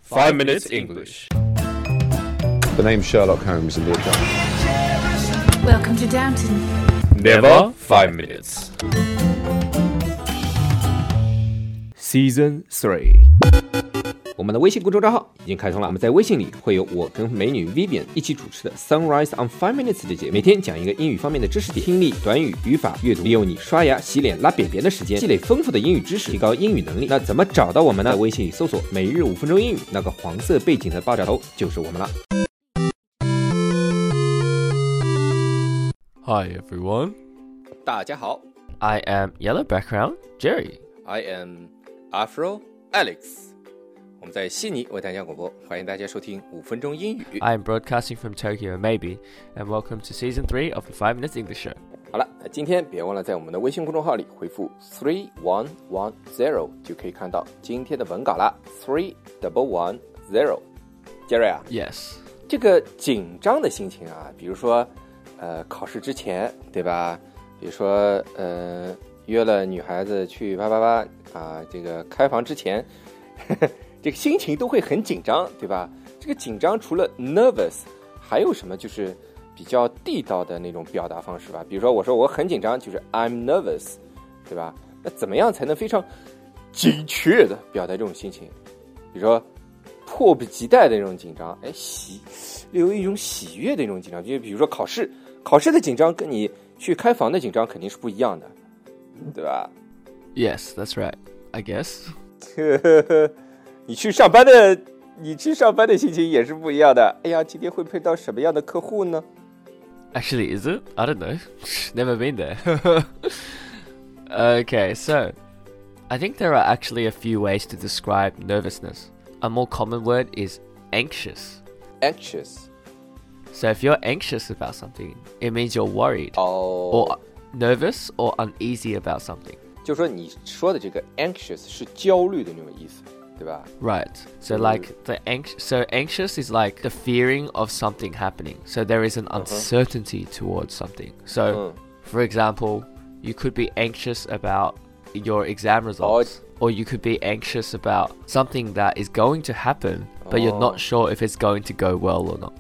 5 Minutes English. The name's Sherlock Holmes in the account. Welcome to Downton. Never 5 minutes. Season 3。我们的微信公众账号已经开通了，我们在微信里会有我跟美女 Vivian 一起主持的 Sunrise on 5 Minutes 的节目，每天讲一个英语方面的知识点，听力、短语、语法、阅读，利用你刷牙、洗脸、拉便便的时间，积累丰富的英语知识，提高英语能力。那怎么找到我们呢？在微信里搜索每日5分钟英语，那个黄色背景的爆炸头就是我们了。 Hi everyone. 大家好 I am Yellow Background Jerry. I am Afro Alex。我们在悉尼为大家广播，欢迎大家收听5分钟英语。 I am broadcasting from Tokyo, maybe, and welcome to Season 3 of the 5 Minutes English Show. 好了，那今天别忘了在我们的微信公众号里回复3110，就可以看到今天的文稿啦。3110，杰瑞啊 Yes. 这个紧张的心情啊，比如说考试之前，对吧？比如说约了女孩子去啪啊，这个开房之前。这个心情都会很紧张，对吧？这个紧张除了 nervous 还有什么就是比较地道的那种表达方式吧？比如说我说我很紧张，就是 I'm nervous， 对吧？那怎么样才能非常精确的表达这种心情？比如说迫不及待的那种紧张，有一种喜悦的那种紧张，就比如说考试的紧张跟你去开房的紧张肯定是不一样的，对吧？ Yes, that's right, I guess. 你去上班的心情也是不一样的。哎呀，今天会碰到什么样的客户呢？ Actually, is it? I don't know. Never been there. Okay, so I think there are actually a few ways to describe nervousness. A more common word is anxious. Anxious. So if you're anxious about something, it means you're worried or nervous or uneasy about something. 就说你说的这个 anxious 是焦虑的那种意思，对吧？ Right. So like so anxious is like the fearing of something happening. So there is an uncertainty towards something. So for example, you could be anxious about your exam results, or you could be anxious about something that is going to happen, but you're not sure if it's going to go well or not.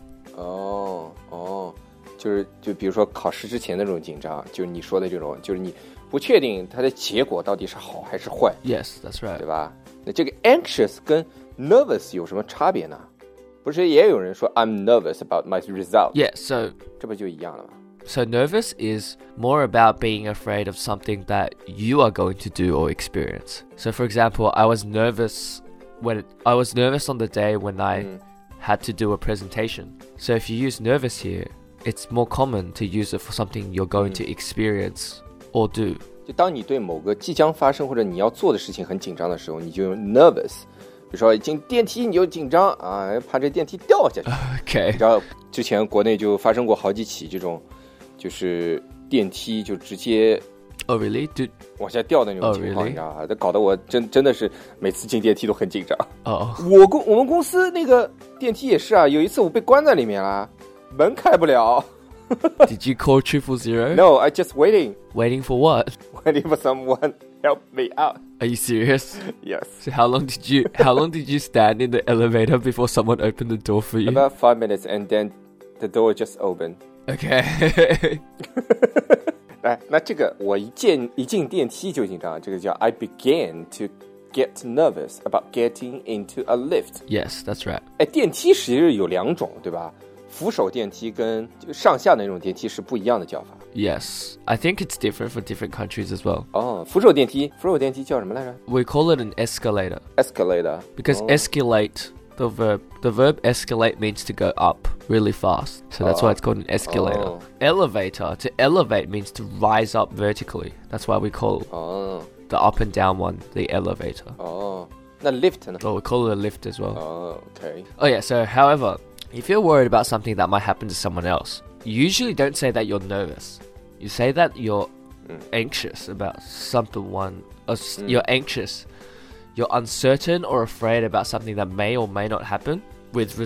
就比如说考试之前的那种紧张，就是你说的这种，就是你不确定它的结果到底是好还是坏。 Yes, that's right. 对吧？那这个 anxious 跟 nervous 有什么差别呢？不是也有人说 I'm nervous about my result? Yeah, so 这不就一样了吗？ So nervous is more about being afraid of something that you are going to do or experience. So for example, I was nervous on the day when I had to do a presentation. So if you use nervous here, it's more common to use it for something you're going to experience or do. 就当你对某个即将发生或者你要做的事情很紧张的时候，你就用 nervous。比如说进电梯你就紧张啊，怕这电梯掉下去。 Okay. 你知道之前国内就发生过好几起这种，就是电梯就直接 Oh really? 往下掉的那种情况， really? 你知道吧？这搞得我真的是每次进电梯都很紧张。我们公司那个电梯也是啊，有一次我被关在里面了，门开不了。 Did you call 000? No, I just waiting. Waiting for what? Waiting for someone help me out. Are you serious? Yes. So how long did you stand in the elevator before someone opened the door for you? About 5 minutes, and then the door just opened. Okay. 来，那这个我一进电梯就紧张，这个叫 I began to get nervous about getting into a lift. Yes, that's right. 电梯实际有两种，对吧？扶手电梯跟上下的那种电梯是不一样的叫法。 Yes, I think it's different for different countries as well. 扶手电梯叫什么来着？ We call it an escalator. Escalator. Because escalate, the verb escalate means to go up really fast. So that's why it's called an escalator. Elevator, to elevate means to rise up vertically. That's why we call the up and down one the elevator. 那 lift 呢？ Or we call it a lift as well. Okay. Oh yeah, so however, if you're worried about something that might happen to someone else, you usually don't say that you're nervous. You say that you're anxious about someone, or you're anxious. You're uncertain or afraid about something that may or may not happen with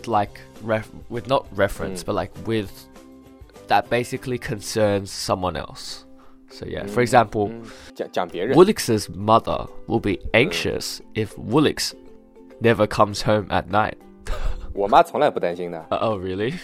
not reference, but like with that basically concerns someone else. So yeah, for example, 讲别人 Woolix's mother will be anxious if Woolix never comes home at night. 我妈从来不担心的。 Oh, really?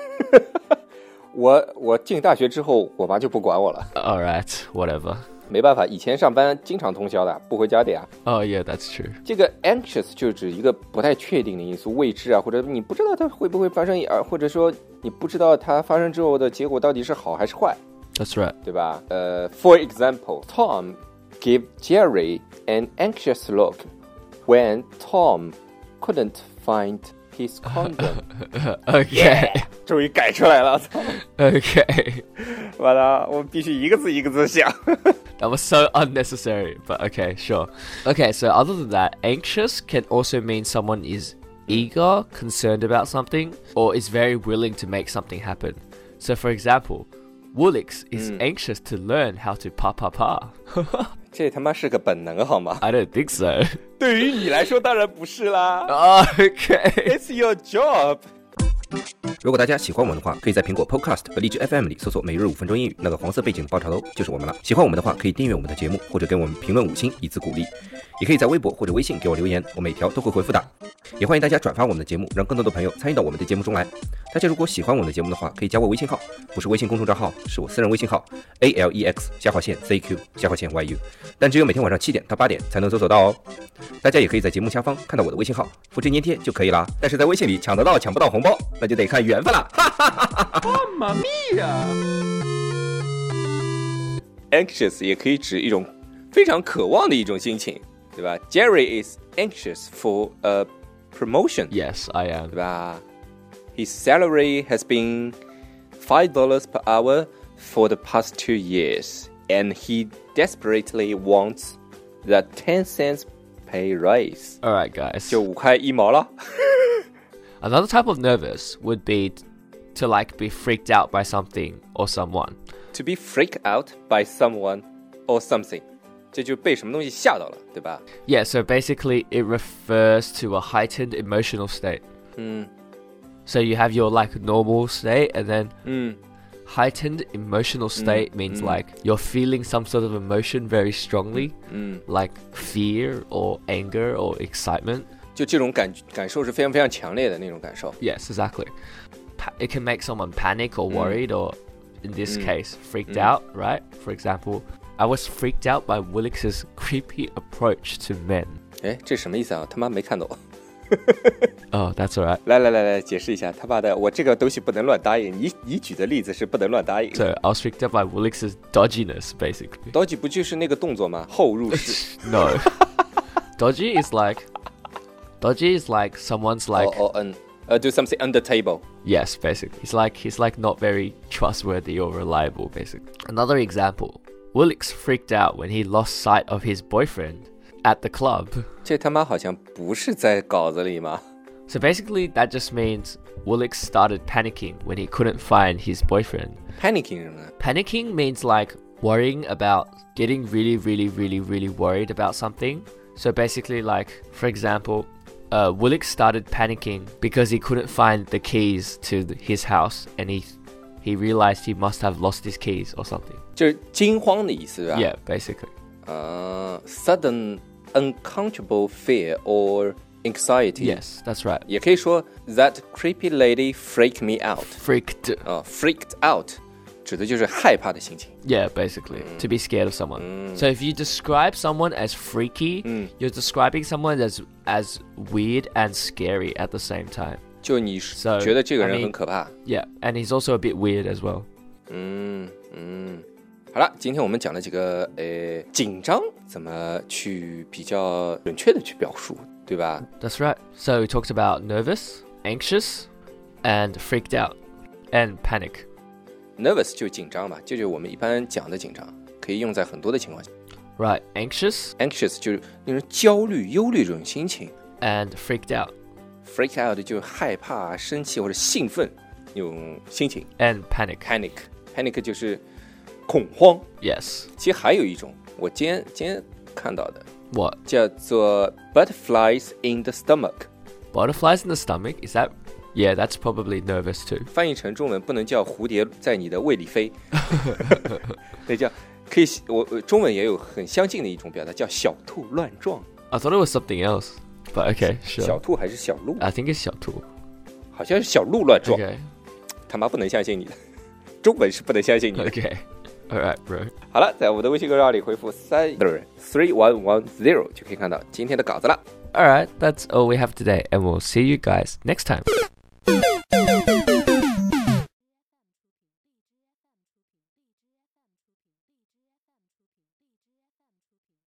我进大学之后，我妈就不管我了。 Alright, whatever. 没办法，以前上班经常通宵的，不回家的呀。 Oh, yeah, that's true. 这个 anxious 就指一个不太确定的因素，未知啊，或者你不知道它会不会发生，或者说你不知道它发生之后的结果到底是好还是坏。 That's right. 对吧？For example, Tom gave Jerry an anxious look when Tom couldn't find his condom. Okay. 终于改出来了，操！ Okay. 完了，我必须一个字一个字想。 That was so unnecessary, but okay, sure. Okay, so other than that, anxious can also mean someone is eager, concerned about something, or is very willing to make something happen. So for example, Woolix is anxious to learn how to pa. 这他妈是个本能好吗？ I don't think so. 对于你来说当然不是啦。 Okay. It's your job. 如果大家喜欢我们的话，可以在苹果 Podcast 和荔枝 FM 里搜索每日5分钟英语，那个黄色背景的爆炒头就是我们了。喜欢我们的话，可以订阅我们的节目，或者给我们评论5星以资鼓励。也可以在微博或者微信给我留言，我每条都会回复的。也欢迎大家转发我们的节目，让更多的朋友参与到我们的节目中来。大家如果喜欢我们的节目的话，可以加我微信号，不是微信公众账号，是我私人微信号 ALEX_ZQ_YU， 但只有每天晚上7点到8点才能搜索到哦。大家也可以在节目下方看到我的微信号，复制粘贴就可以啦。但是在微信里抢得到抢不到红包，那就得看缘分啦。 妈咪呀 ！Anxious 也可以指一种非常渴望的一种心情，对吧 ？Jerry is anxious for a promotion. Yes, I am. 对吧 ？His salary has been $5 per hour for the past 2 years, and he desperately wants that 10 cents pay raise. Alright, guys. 就5块1毛了。 Another type of nervous would be to like be freaked out by something or someone. To be freaked out by someone or something. 这就被什么东西吓到了，对吧？ Yeah, so basically it refers to a heightened emotional state. So you have your like normal state and then heightened emotional state means like you're feeling some sort of emotion very strongly, like fear or anger or excitement. 就这种感受是非常非常强烈的那种感受。 Yes, exactly. It can make someone panic or worried or in this case freaked out, right? For example, I was freaked out by Woolix's creepy approach to men. 哎，这什么意思啊？他妈没看懂。 Oh, that's alright. 来，解释一下，他妈的，我这个东西不能乱答应。你举的例子是不能乱答应。 So I was freaked out by Woolix's dodginess, basically. Dodgy 不就是那个动作吗？后入式。 No. Dodgy is like someone's like do something under table. Yes, basically. He's like not very trustworthy or reliable, basically. Another example. Woolix freaked out when he lost sight of his boyfriend at the club. 这他妈好像不是在稿子里吗？ So basically that just means Woolix started panicking when he couldn't find his boyfriend. Panicking 是什么呢？ Panicking means like worrying about getting really worried about something. So basically like, for example, Woolix started panicking because he couldn't find the keys to his house and he realized he must have lost his keys or something. 就是惊慌的意思，对吧 Yeah, basically. Sudden uncountable fear or anxiety. Yes, that's right. 也可以说 That creepy lady freaked me out. Freaked. Freaked out 指的就是害怕的心情。 Yeah, basically. To be scared of someone. So if you describe someone as freaky, you're describing someone as weird and scary at the same time. 就你 So, 觉得这个 I 人 mean, 很可怕。 Yeah, and he's also a bit weird as well. 好了，今天我们讲了几个紧张怎么去比较准确的去表述，对吧？ That's right. So we talked about nervous, anxious, and freaked out, and panic. Nervous 就紧张嘛，这就是我们一般讲的紧张，可以用在很多的情况下。 Right, anxious Anxious 就是那种焦虑、忧虑这种心情。 and freaked out, Freak out 就是害怕、生气或者兴奋那种心情。 and panic. Panic 就是恐慌。 Yes. 其实还有一种，我今天看到的 What? 叫做 butterflies in the stomach。 Butterflies in the stomach? Is that? Yeah, that's probably nervous too. 翻译成中文不能叫蝴蝶在你的胃里飞，那叫可以，我中文也有很相近的一种表达，叫小兔乱撞。 I thought it was something else. But okay, sure. 小兔还是小鹿？ I think it's 小兔。 好像是小鹿乱撞。 Okay. 他妈不能相信你的，中文是不能相信你的。 Okay. Alright, bro. 好了，在我们的微信公众号里回复3110就可以看到今天的稿子了。 Alright, that's all we have today, and we'll see you guys next time.